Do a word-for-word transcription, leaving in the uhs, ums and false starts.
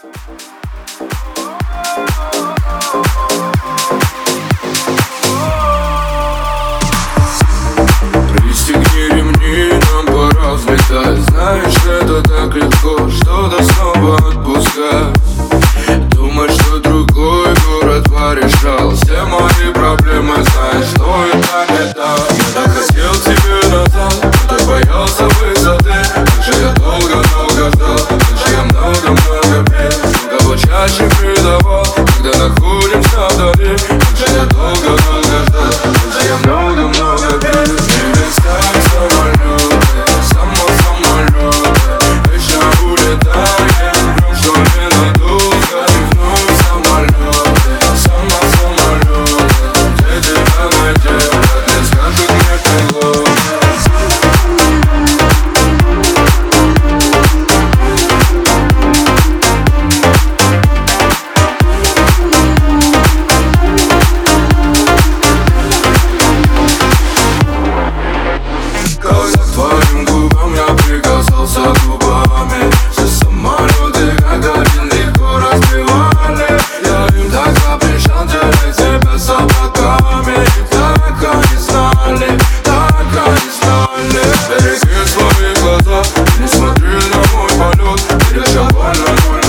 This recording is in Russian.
Пристегни ремни, нам пора взлетать. Знаешь, это так легко, что-то снова отпускать. Думать, что другой город порешал все мои проблемы, знаешь, что это не так. Я так хотел тебе назад, но так боялся высоты. Как же я долго-долго ждал, как же я много-много пил, кого чаще предавал, когда находимся вдали. Как же я долго-долго ждал, как же я много-много пил. Не летай самолеты, само-самолеты, вечно улетаем, что ненадолго. И вновь самолеты, само-самолеты, где тебя найти, как не скажут мне крыло. Когда к твоим губам я прикасался губами, все самолеты как один легко разбивали. Я им так запрещал делать тебя с облаками. И так они знали, так они знали. Береги свои глаза, не смотри на мой полет. Перед тобой на мой